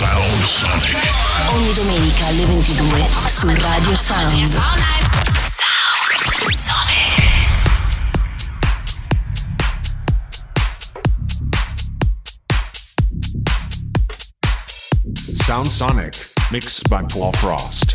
Sound Sonic. Ogni domenica alle 22 su Radio Sound. Sound Sonic, mixed by Paul Frost.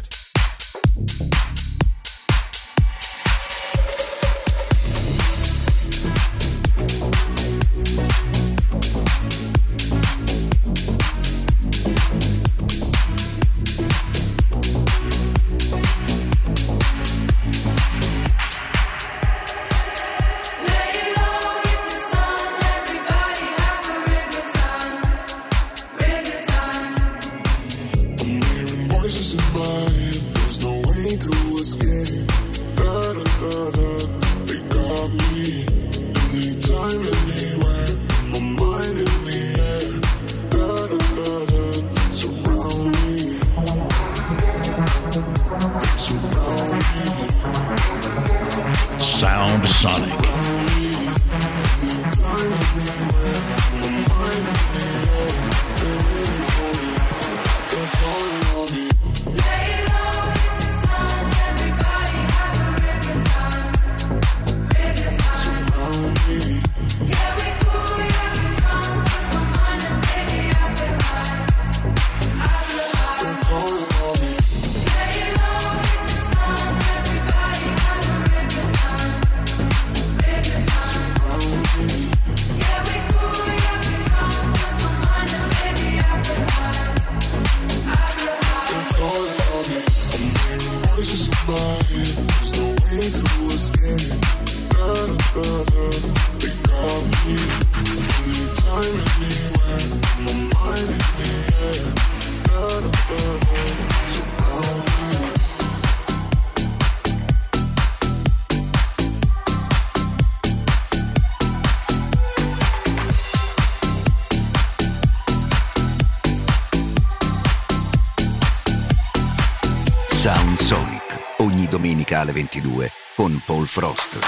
Sound Sonic, ogni domenica alle 22 con Paul Frost.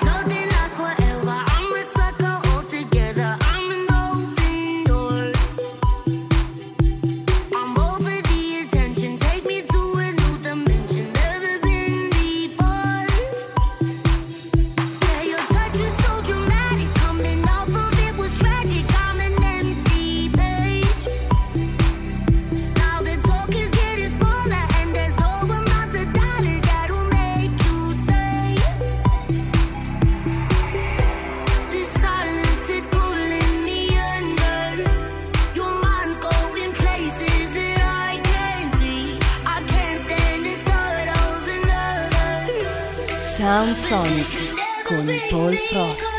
Sound Sonic con Paul Frost.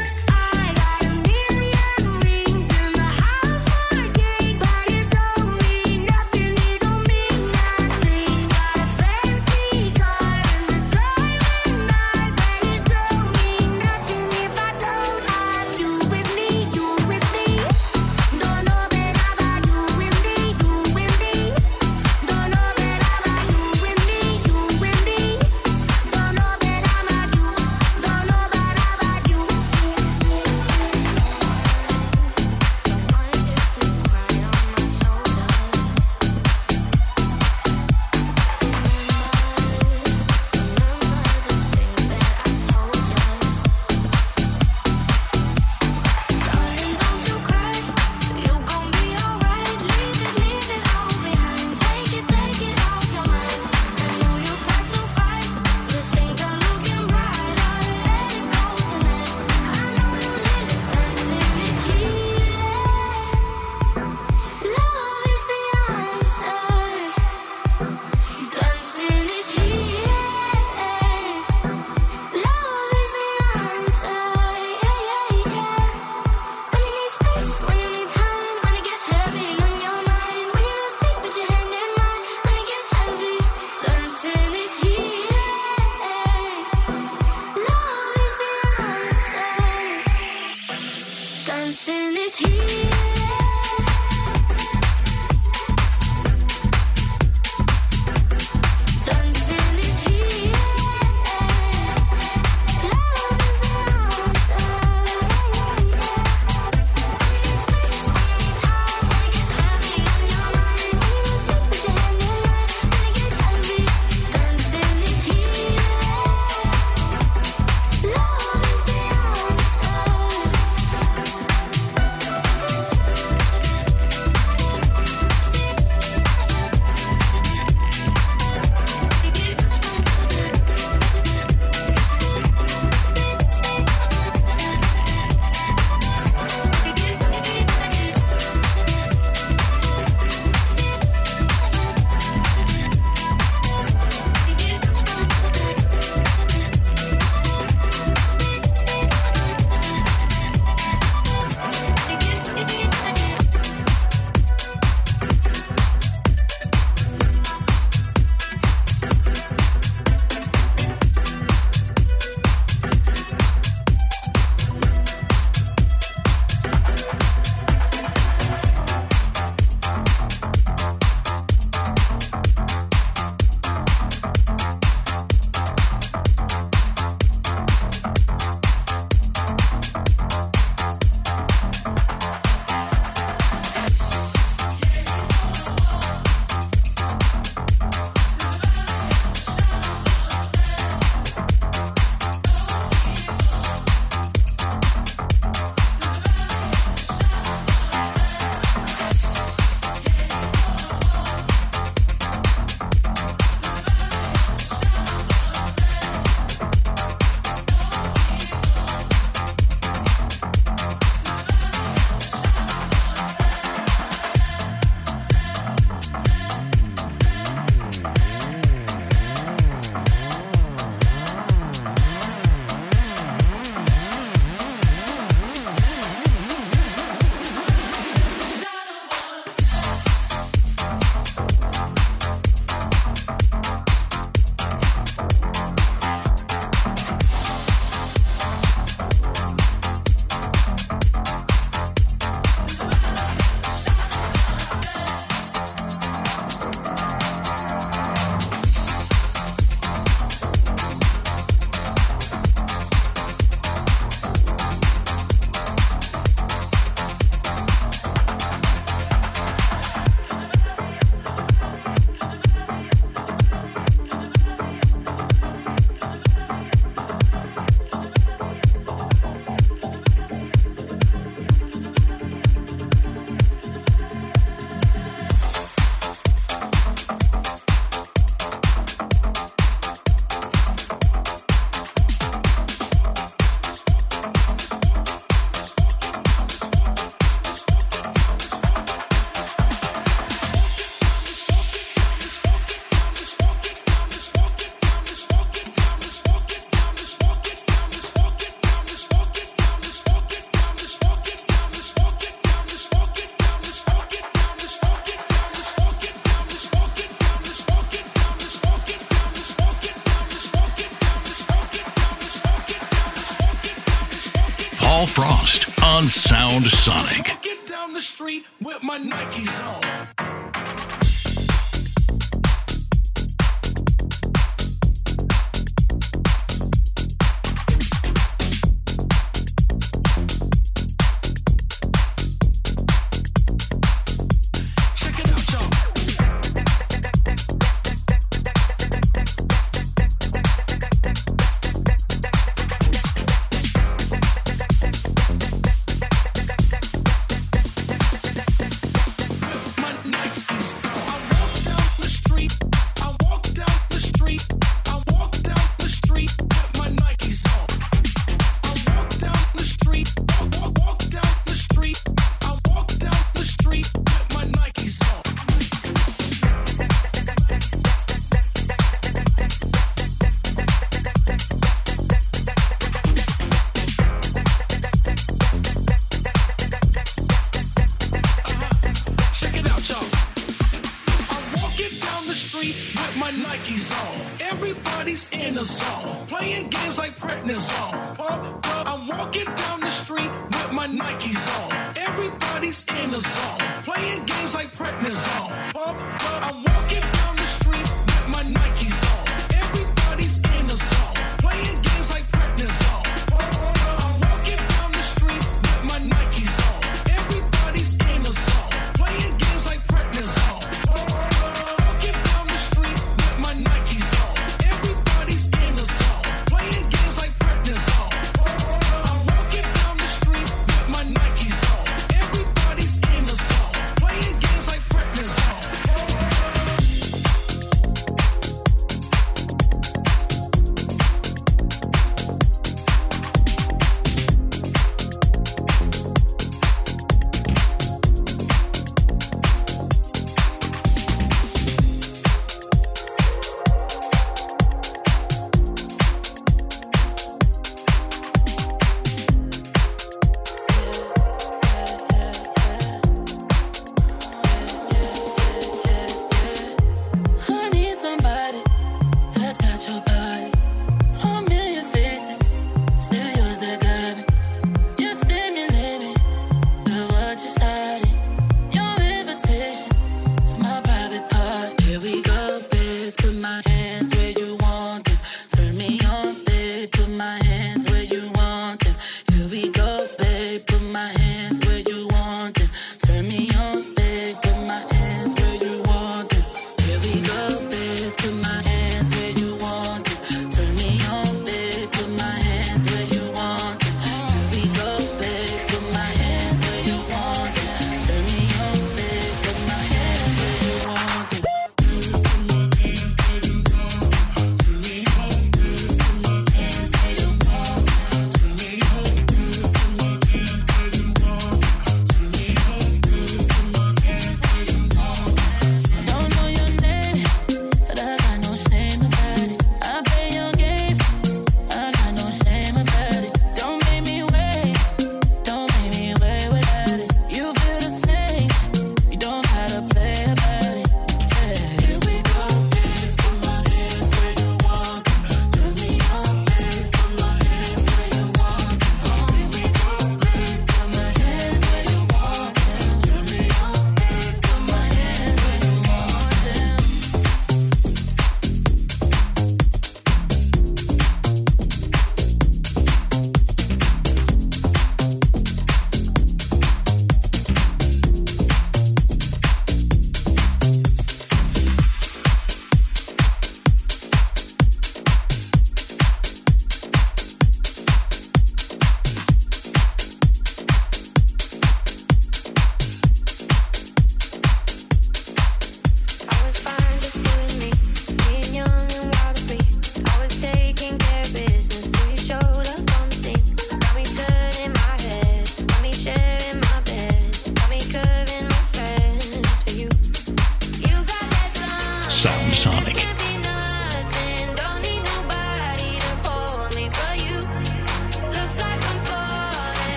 on Sound Sonic. Get down the street with my Nikes on.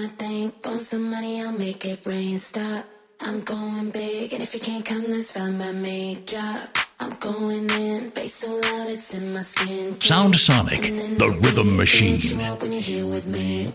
thing, throwing some money, I'll make it rain. Stop. I'm going big, and if you can't come, that's fine by me. Drop. I'm going in, bass so loud it's in my skin. Sound Sonic, the rhythm machine. When you're here with me.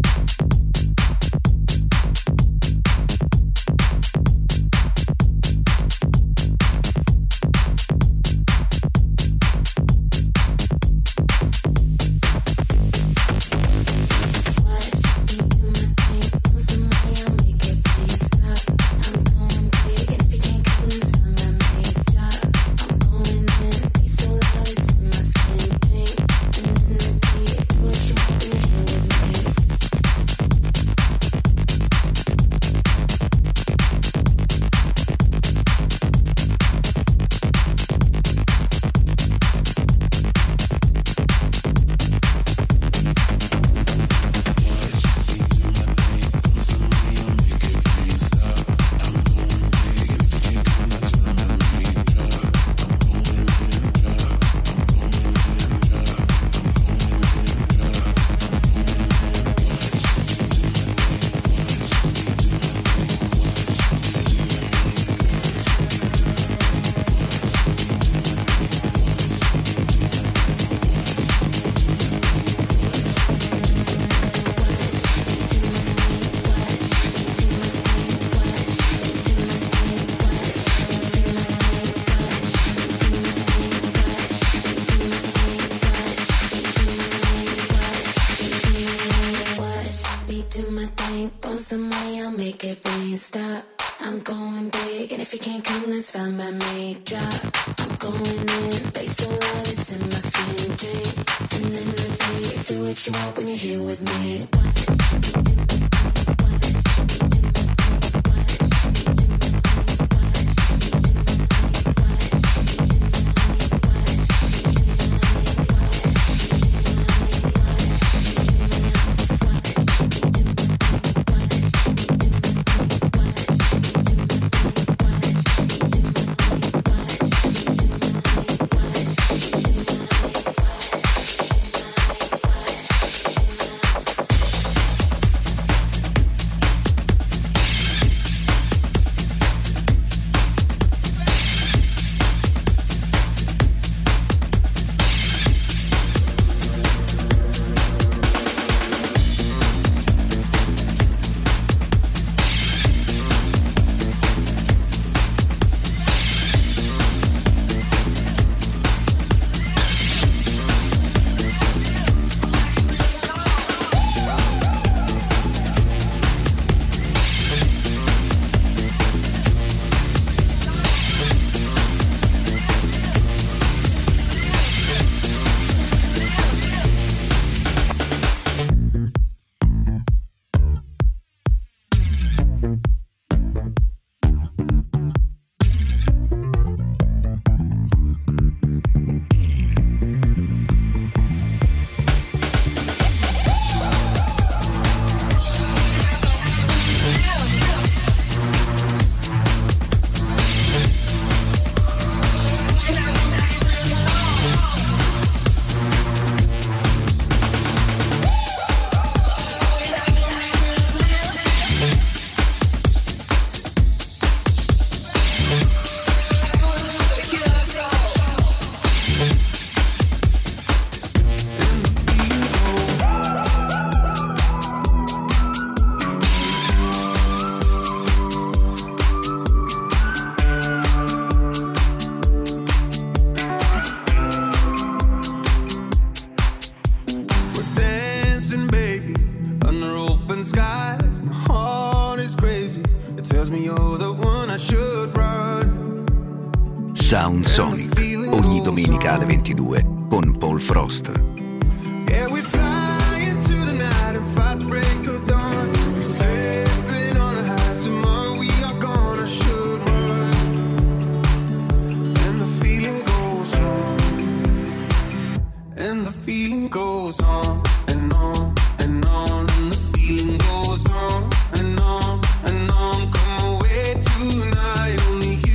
Sound Sonic, ogni domenica alle 22 con Paul Frost.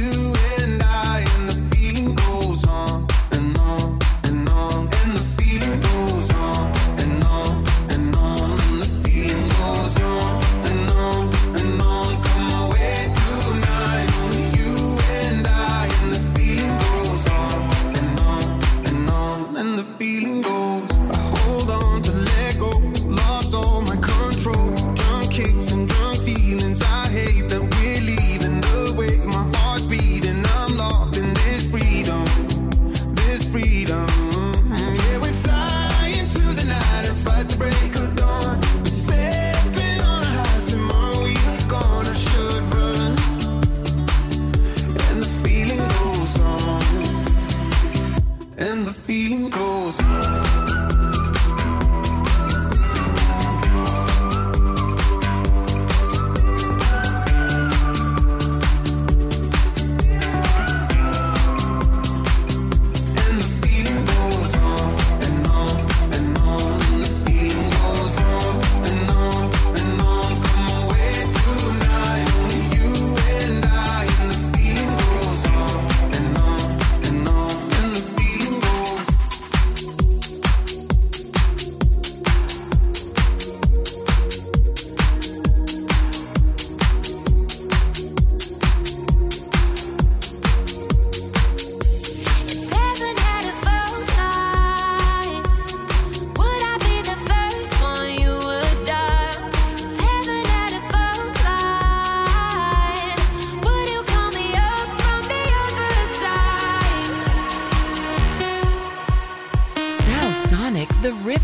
Feeling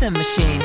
Rhythm Machine.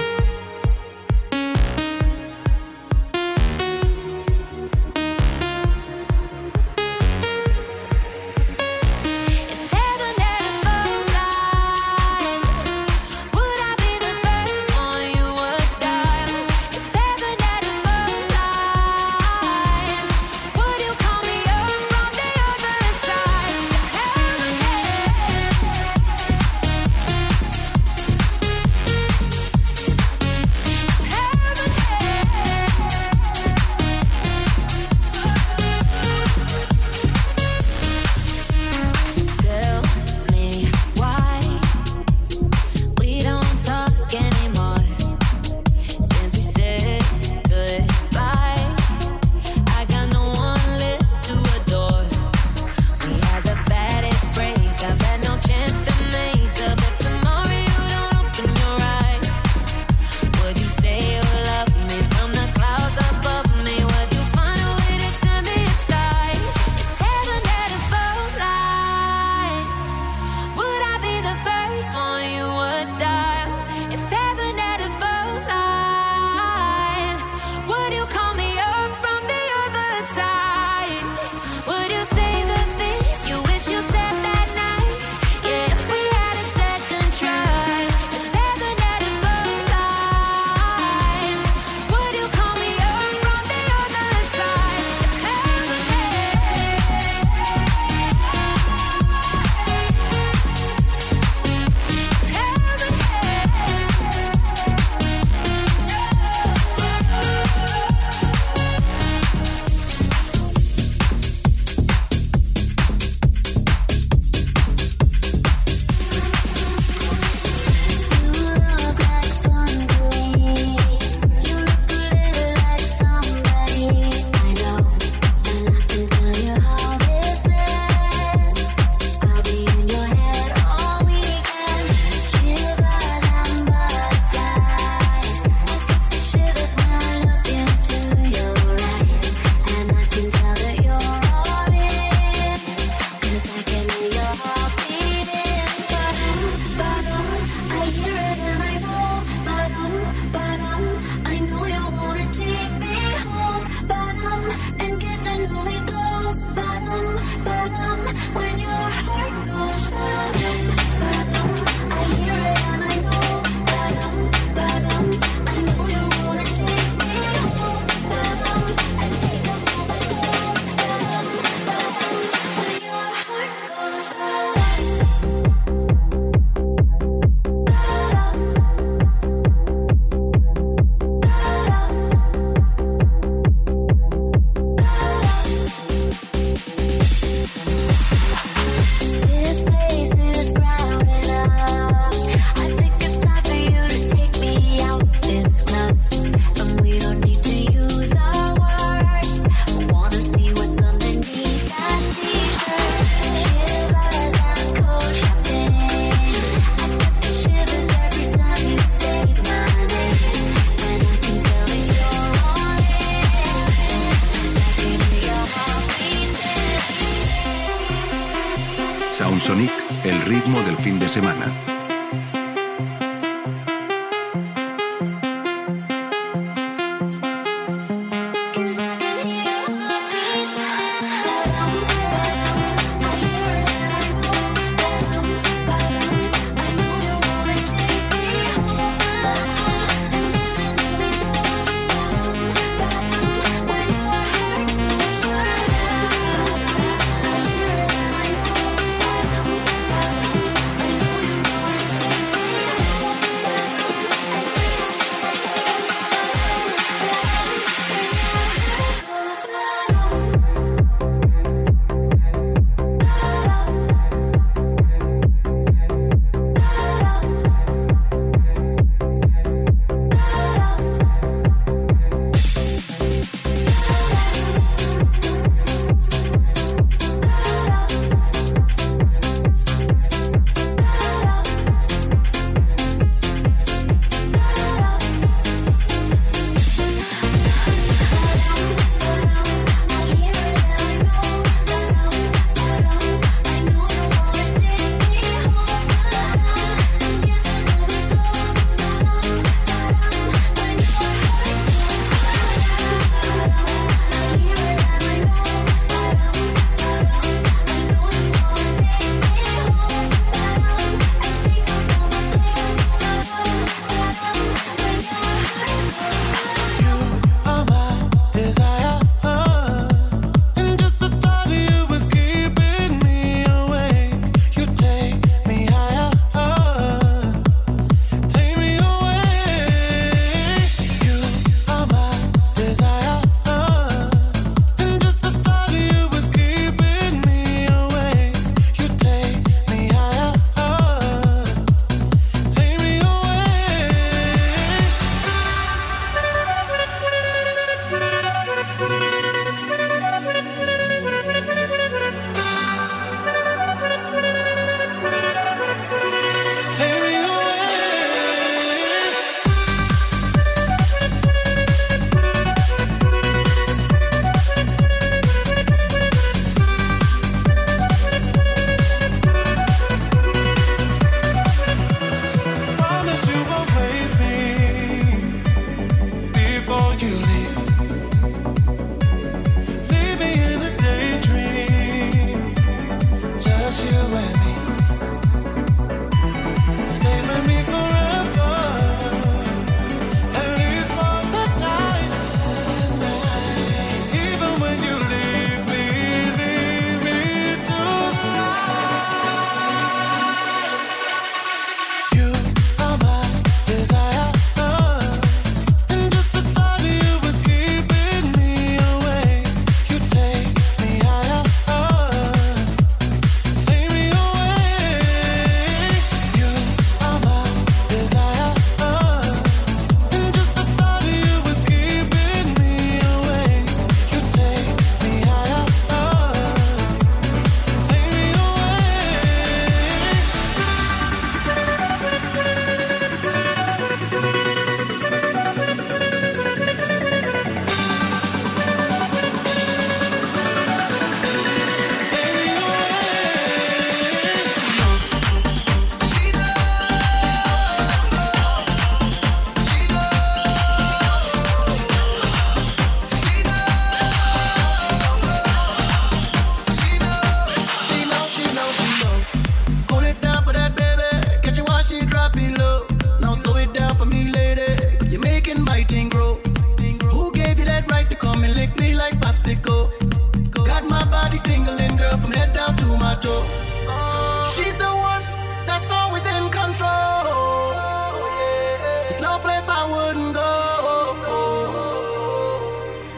Soundsonic, el ritmo del fin de semana.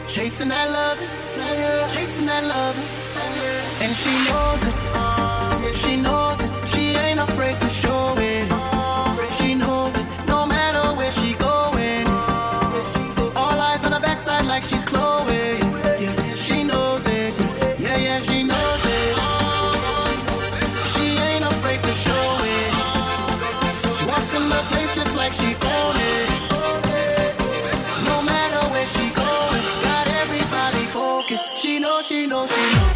chasing that love, and she knows it, yeah, she knows it, she ain't afraid to show it, she knows it, no matter where she going, all eyes on her backside like she's Chloe, yeah, she knows it, yeah, she knows it, she ain't afraid to show it, she walks in the place just like she own it, no matter where she going, got everybody focused, she knows, she knows, she knows.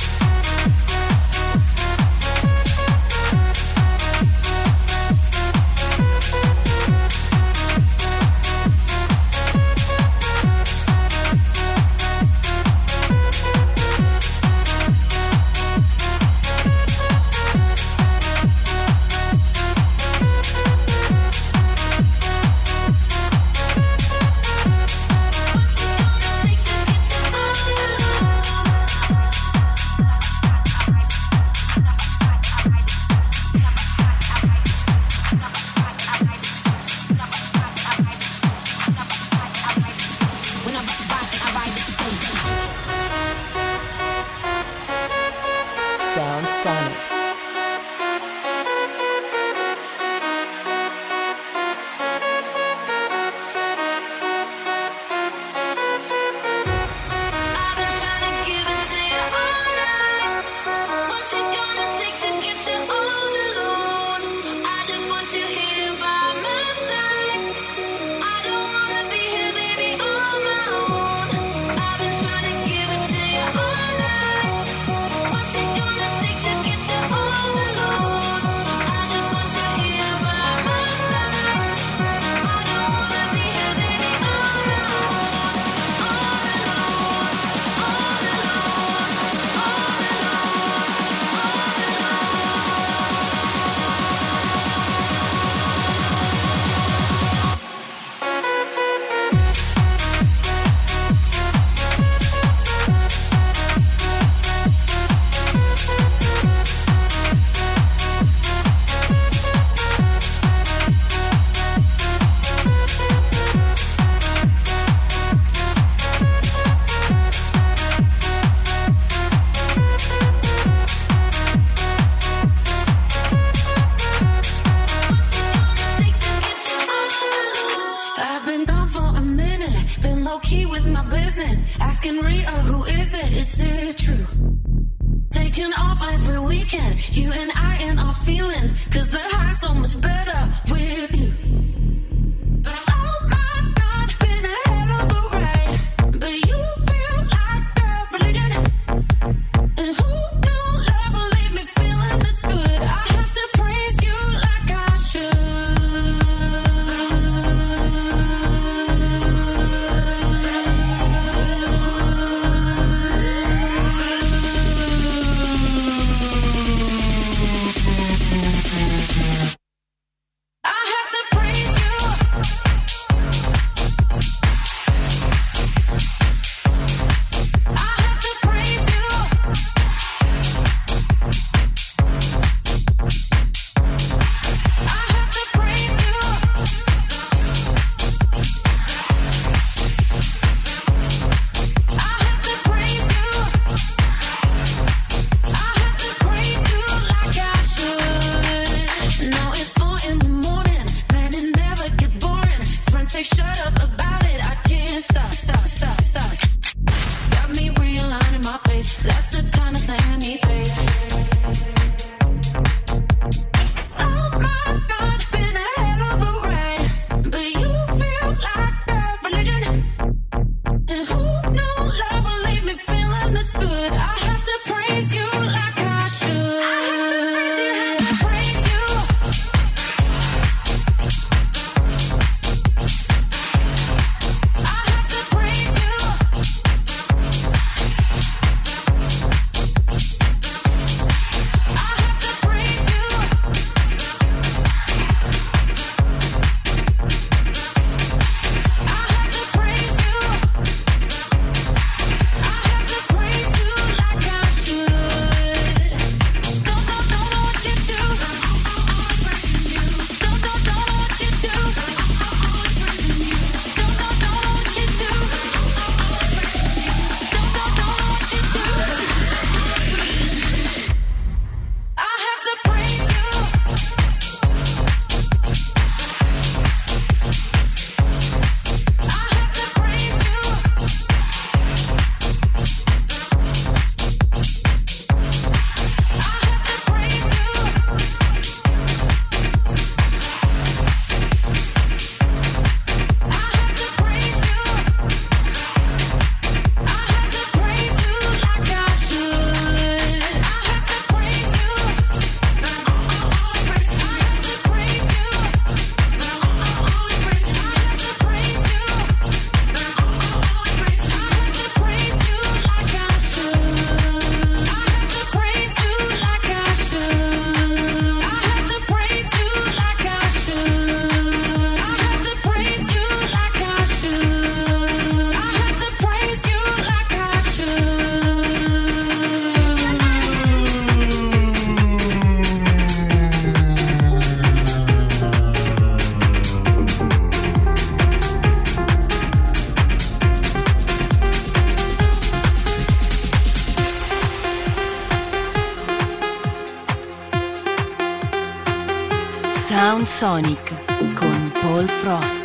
Sound Sonic con Paul Frost.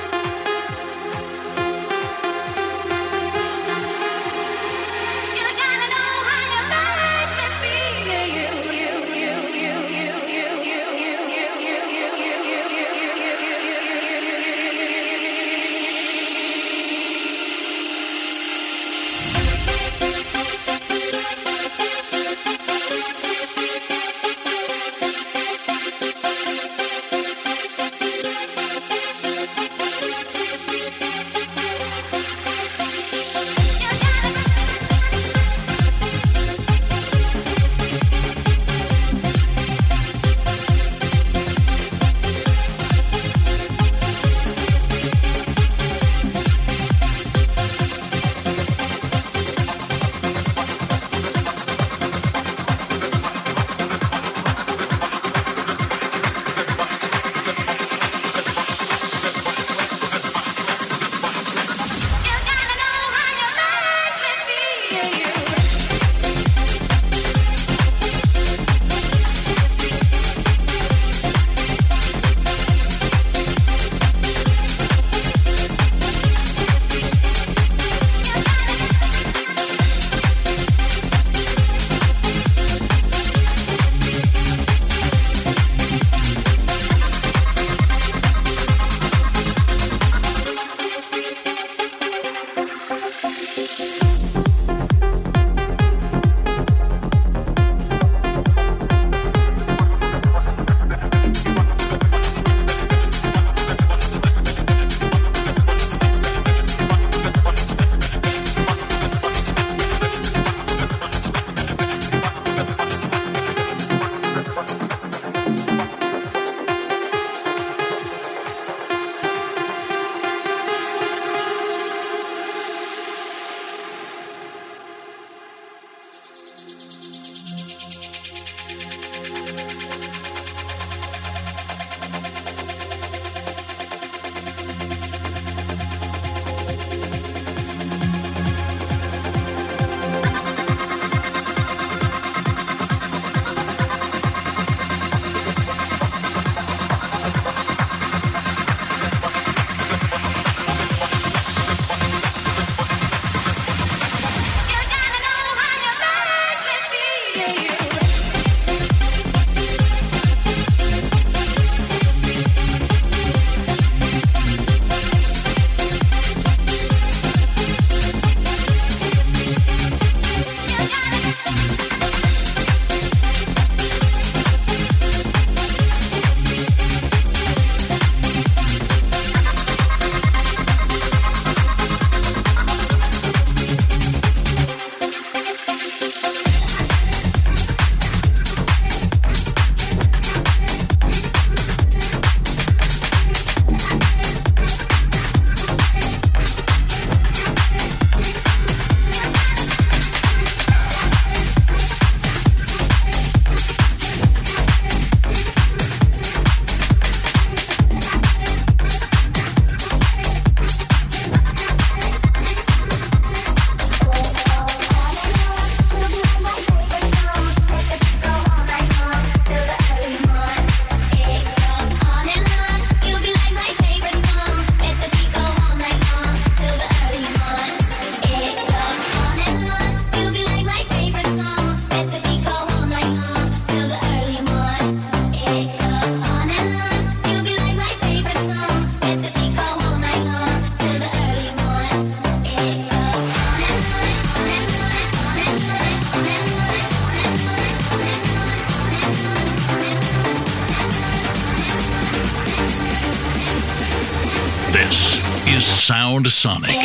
This is Sound Sonic.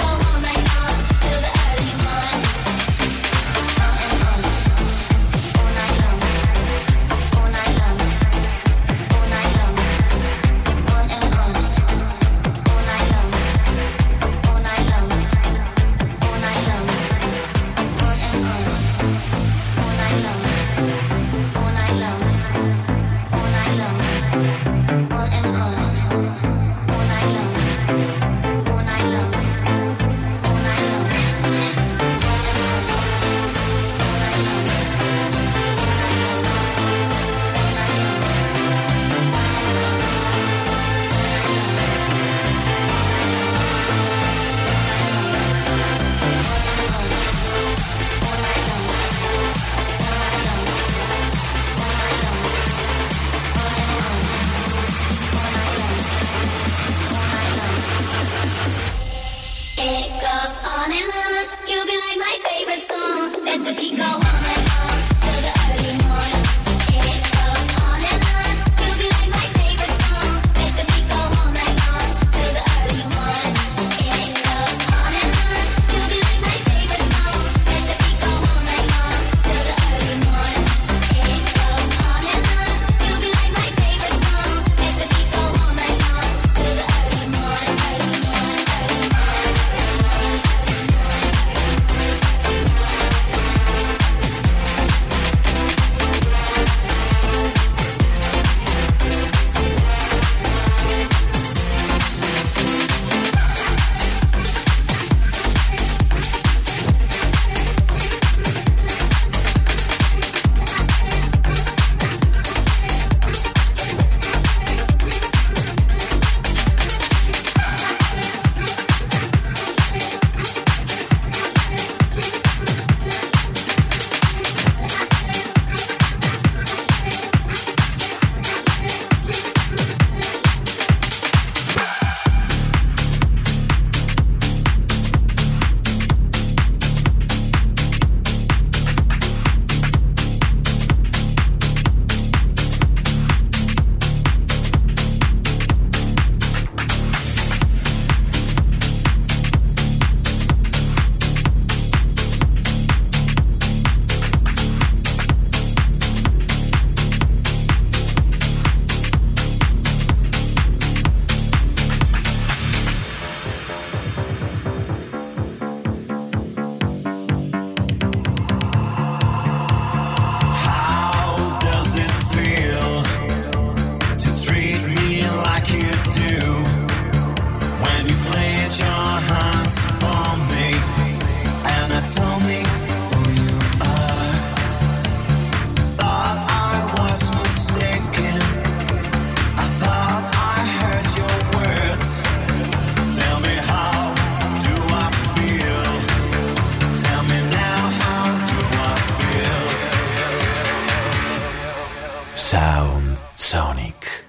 All Sound Sonic.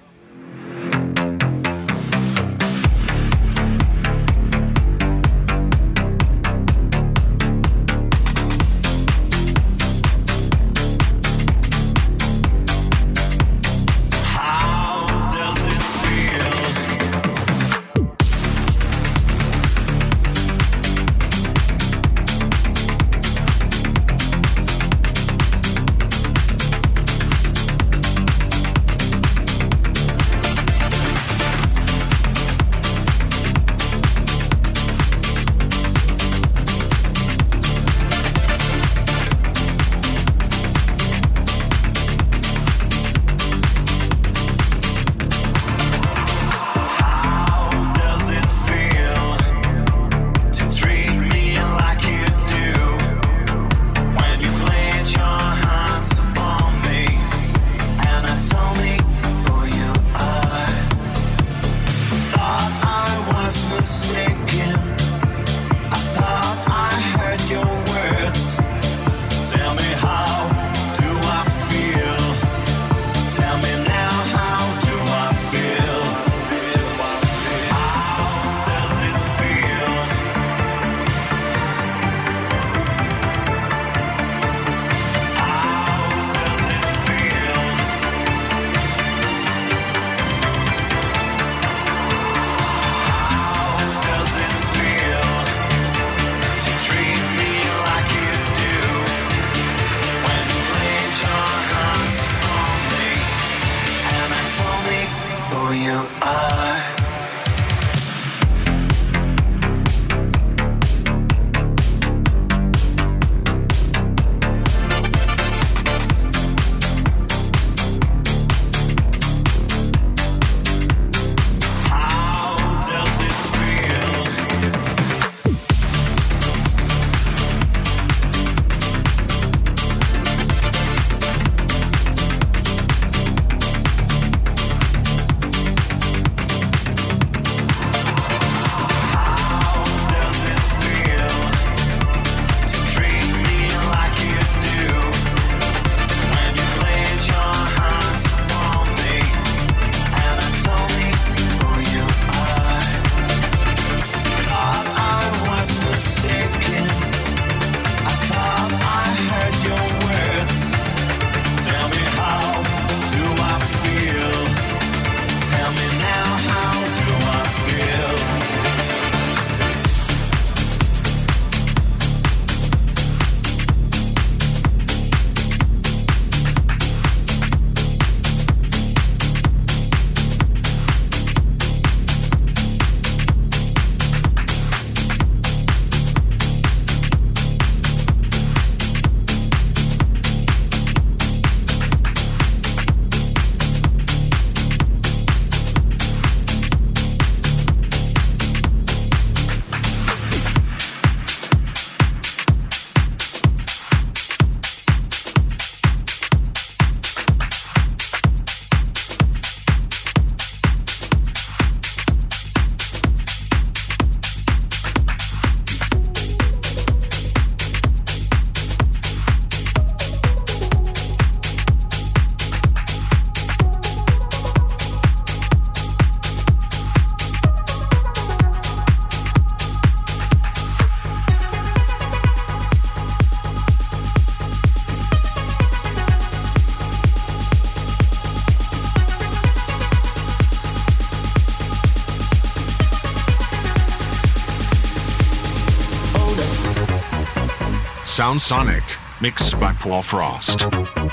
Sound Sonic, mixed by Paul Frost.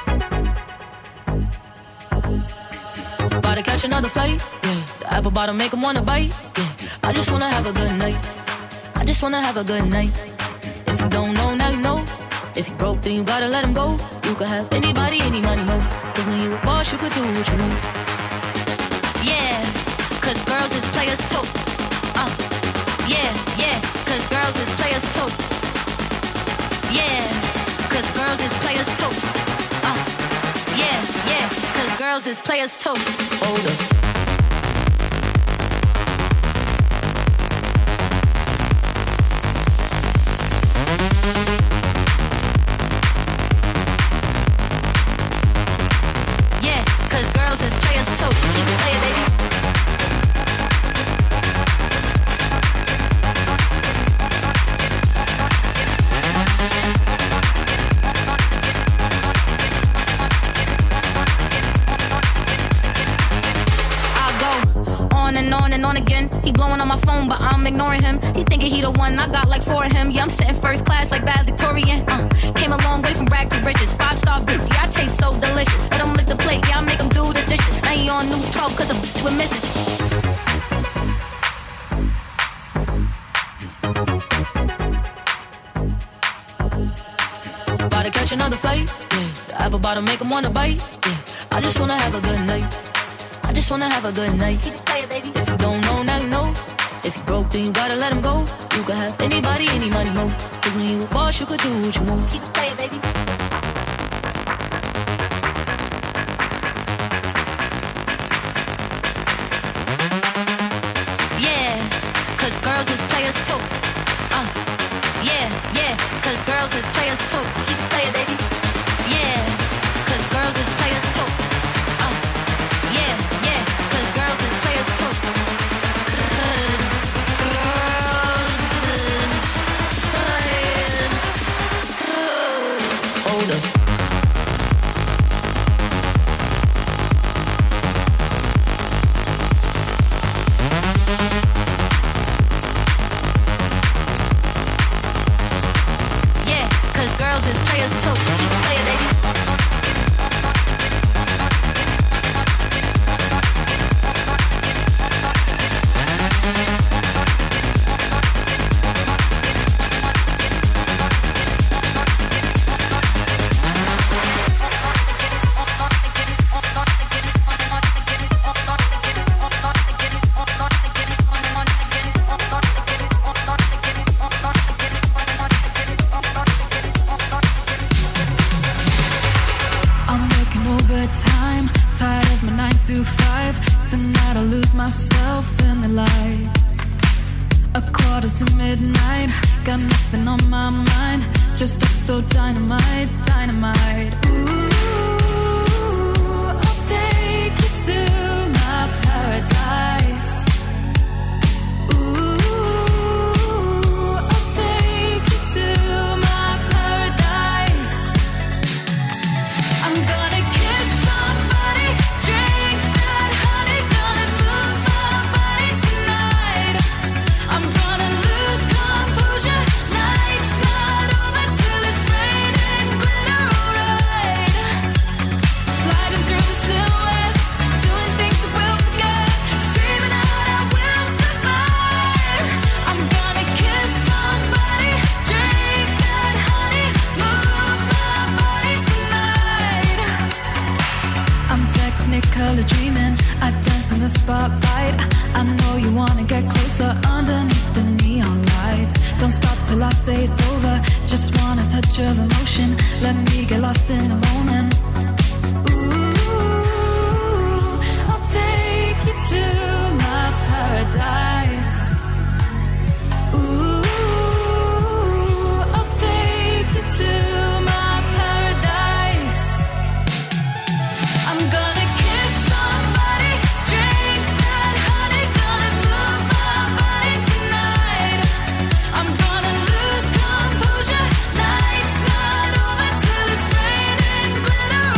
About to catch another flight, yeah. The apple bottom make him wanna bite, yeah. I just wanna have a good night. I just wanna have a good night. If you don't know, now you know. If you broke, then you gotta let him go. You could have anybody, any money, no. Cause when you a boss, you could do what you want. Yeah, cause girls is players too. Yeah, yeah, cause girls is players too. Yeah, cause girls is players too. Yeah, yeah, cause girls is players too. Hold up. Yeah, cause girls is players too. You can play it, baby. On and on again. He blowing on my phone, but I'm ignoring him. He thinking he the one, I got like 4 of him. Yeah, I'm sitting first class like valedictorian. Came a long way from rag to riches. 5-star bitch, yeah, I taste so delicious. Let him lick the plate, yeah, I make him do the dishes. Now he on news 12 cause a bitch we're missing. About to catch another flight, yeah. The apple bottom make him wanna bite, yeah. I just wanna have a good night. I just wanna have a good night. If you don't know, now you know. If you broke, then you gotta let him go. You could have anybody, any money, no. Cause when you a boss, you could do what you want. Keep it playing, baby. Yeah, cause girls is players too. Yeah, yeah, cause girls is players too. Keep it playing, baby. Yeah, cause girls is players too. Yeah, yeah, cause girls is players too. Hold up. Yeah, cause girls is players too. Keep it playing, baby. Tonight I lose myself in the lights. 1:45, got nothing on my mind. Dressed up so dynamite, dynamite. Ooh, I'll take you to my paradise. Ooh, I'll take you to my paradise. I'm gonna kiss somebody, drink that honey, gonna move my body tonight. I'm gonna lose composure, night's not over till it's raining glitter, alright. Sliding through the silhouettes, doing things that we'll forget, screaming out I will survive. I'm gonna kiss somebody, drink that honey, move my body tonight. I'm technically dreaming, I dance in the spotlight. I know you wanna get closer underneath the neon lights. Don't stop till I say it's over, just want a touch of emotion. Let me get lost in the moment. Ooh, I'll take you to my paradise. Ooh, I'll take you to my paradise. I'm gonna kiss somebody, drink that honey, gonna move my body tonight. I'm gonna lose composure, night's not over till it's raining glitter,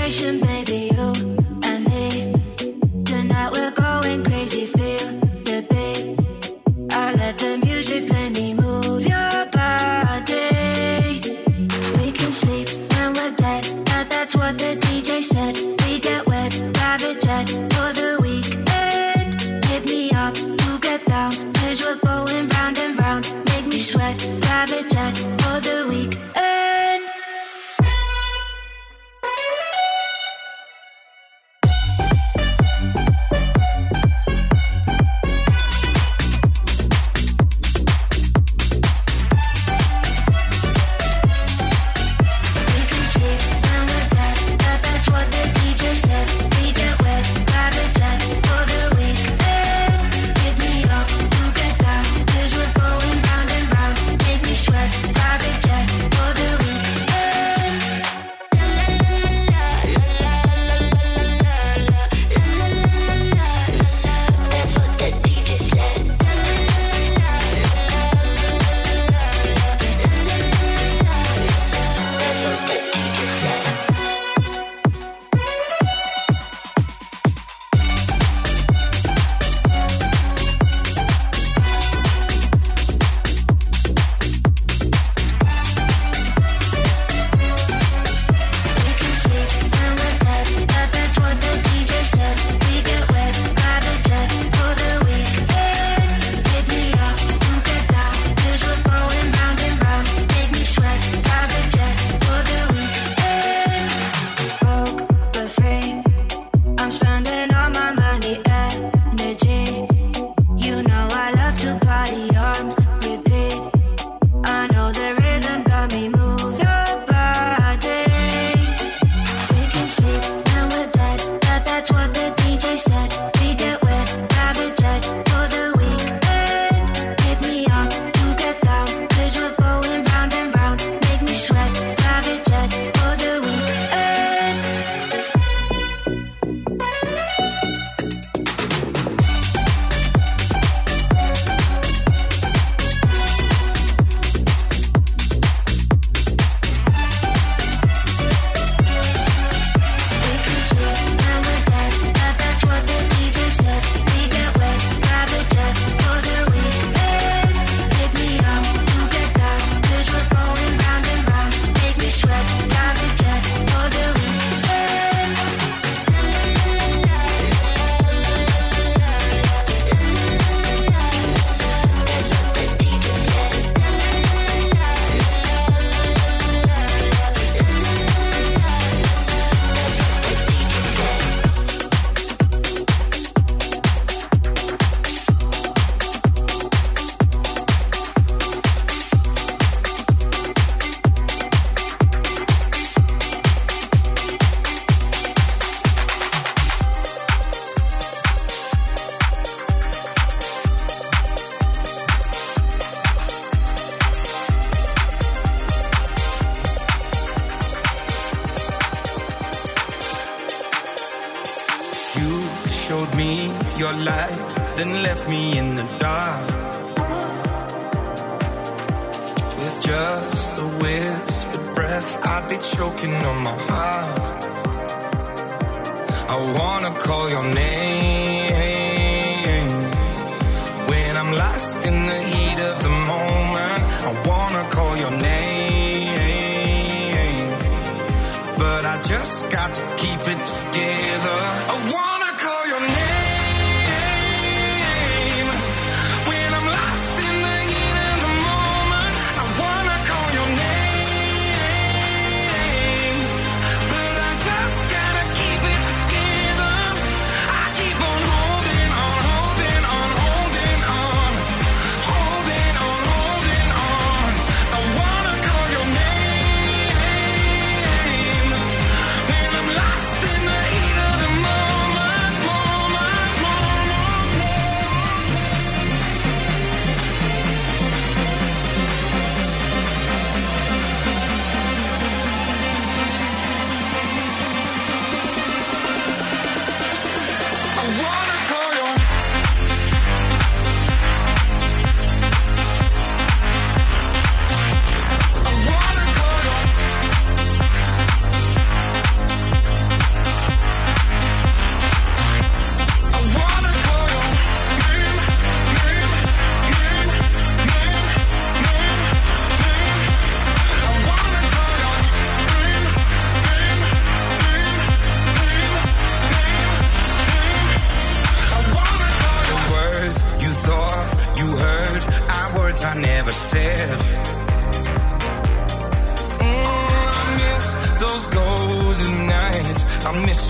vibration, baby, you and me. Tonight we're going crazy, feel the beat. I let the music play me, move your body. We can sleep when we're dead, that's what the DJ said. We get wet, private jet for the weekend. Hit me up to get down, 'cause we're going round and round. Make me sweat, private jet for the weekend. Lost in the heat of the moment. those golden nights. I miss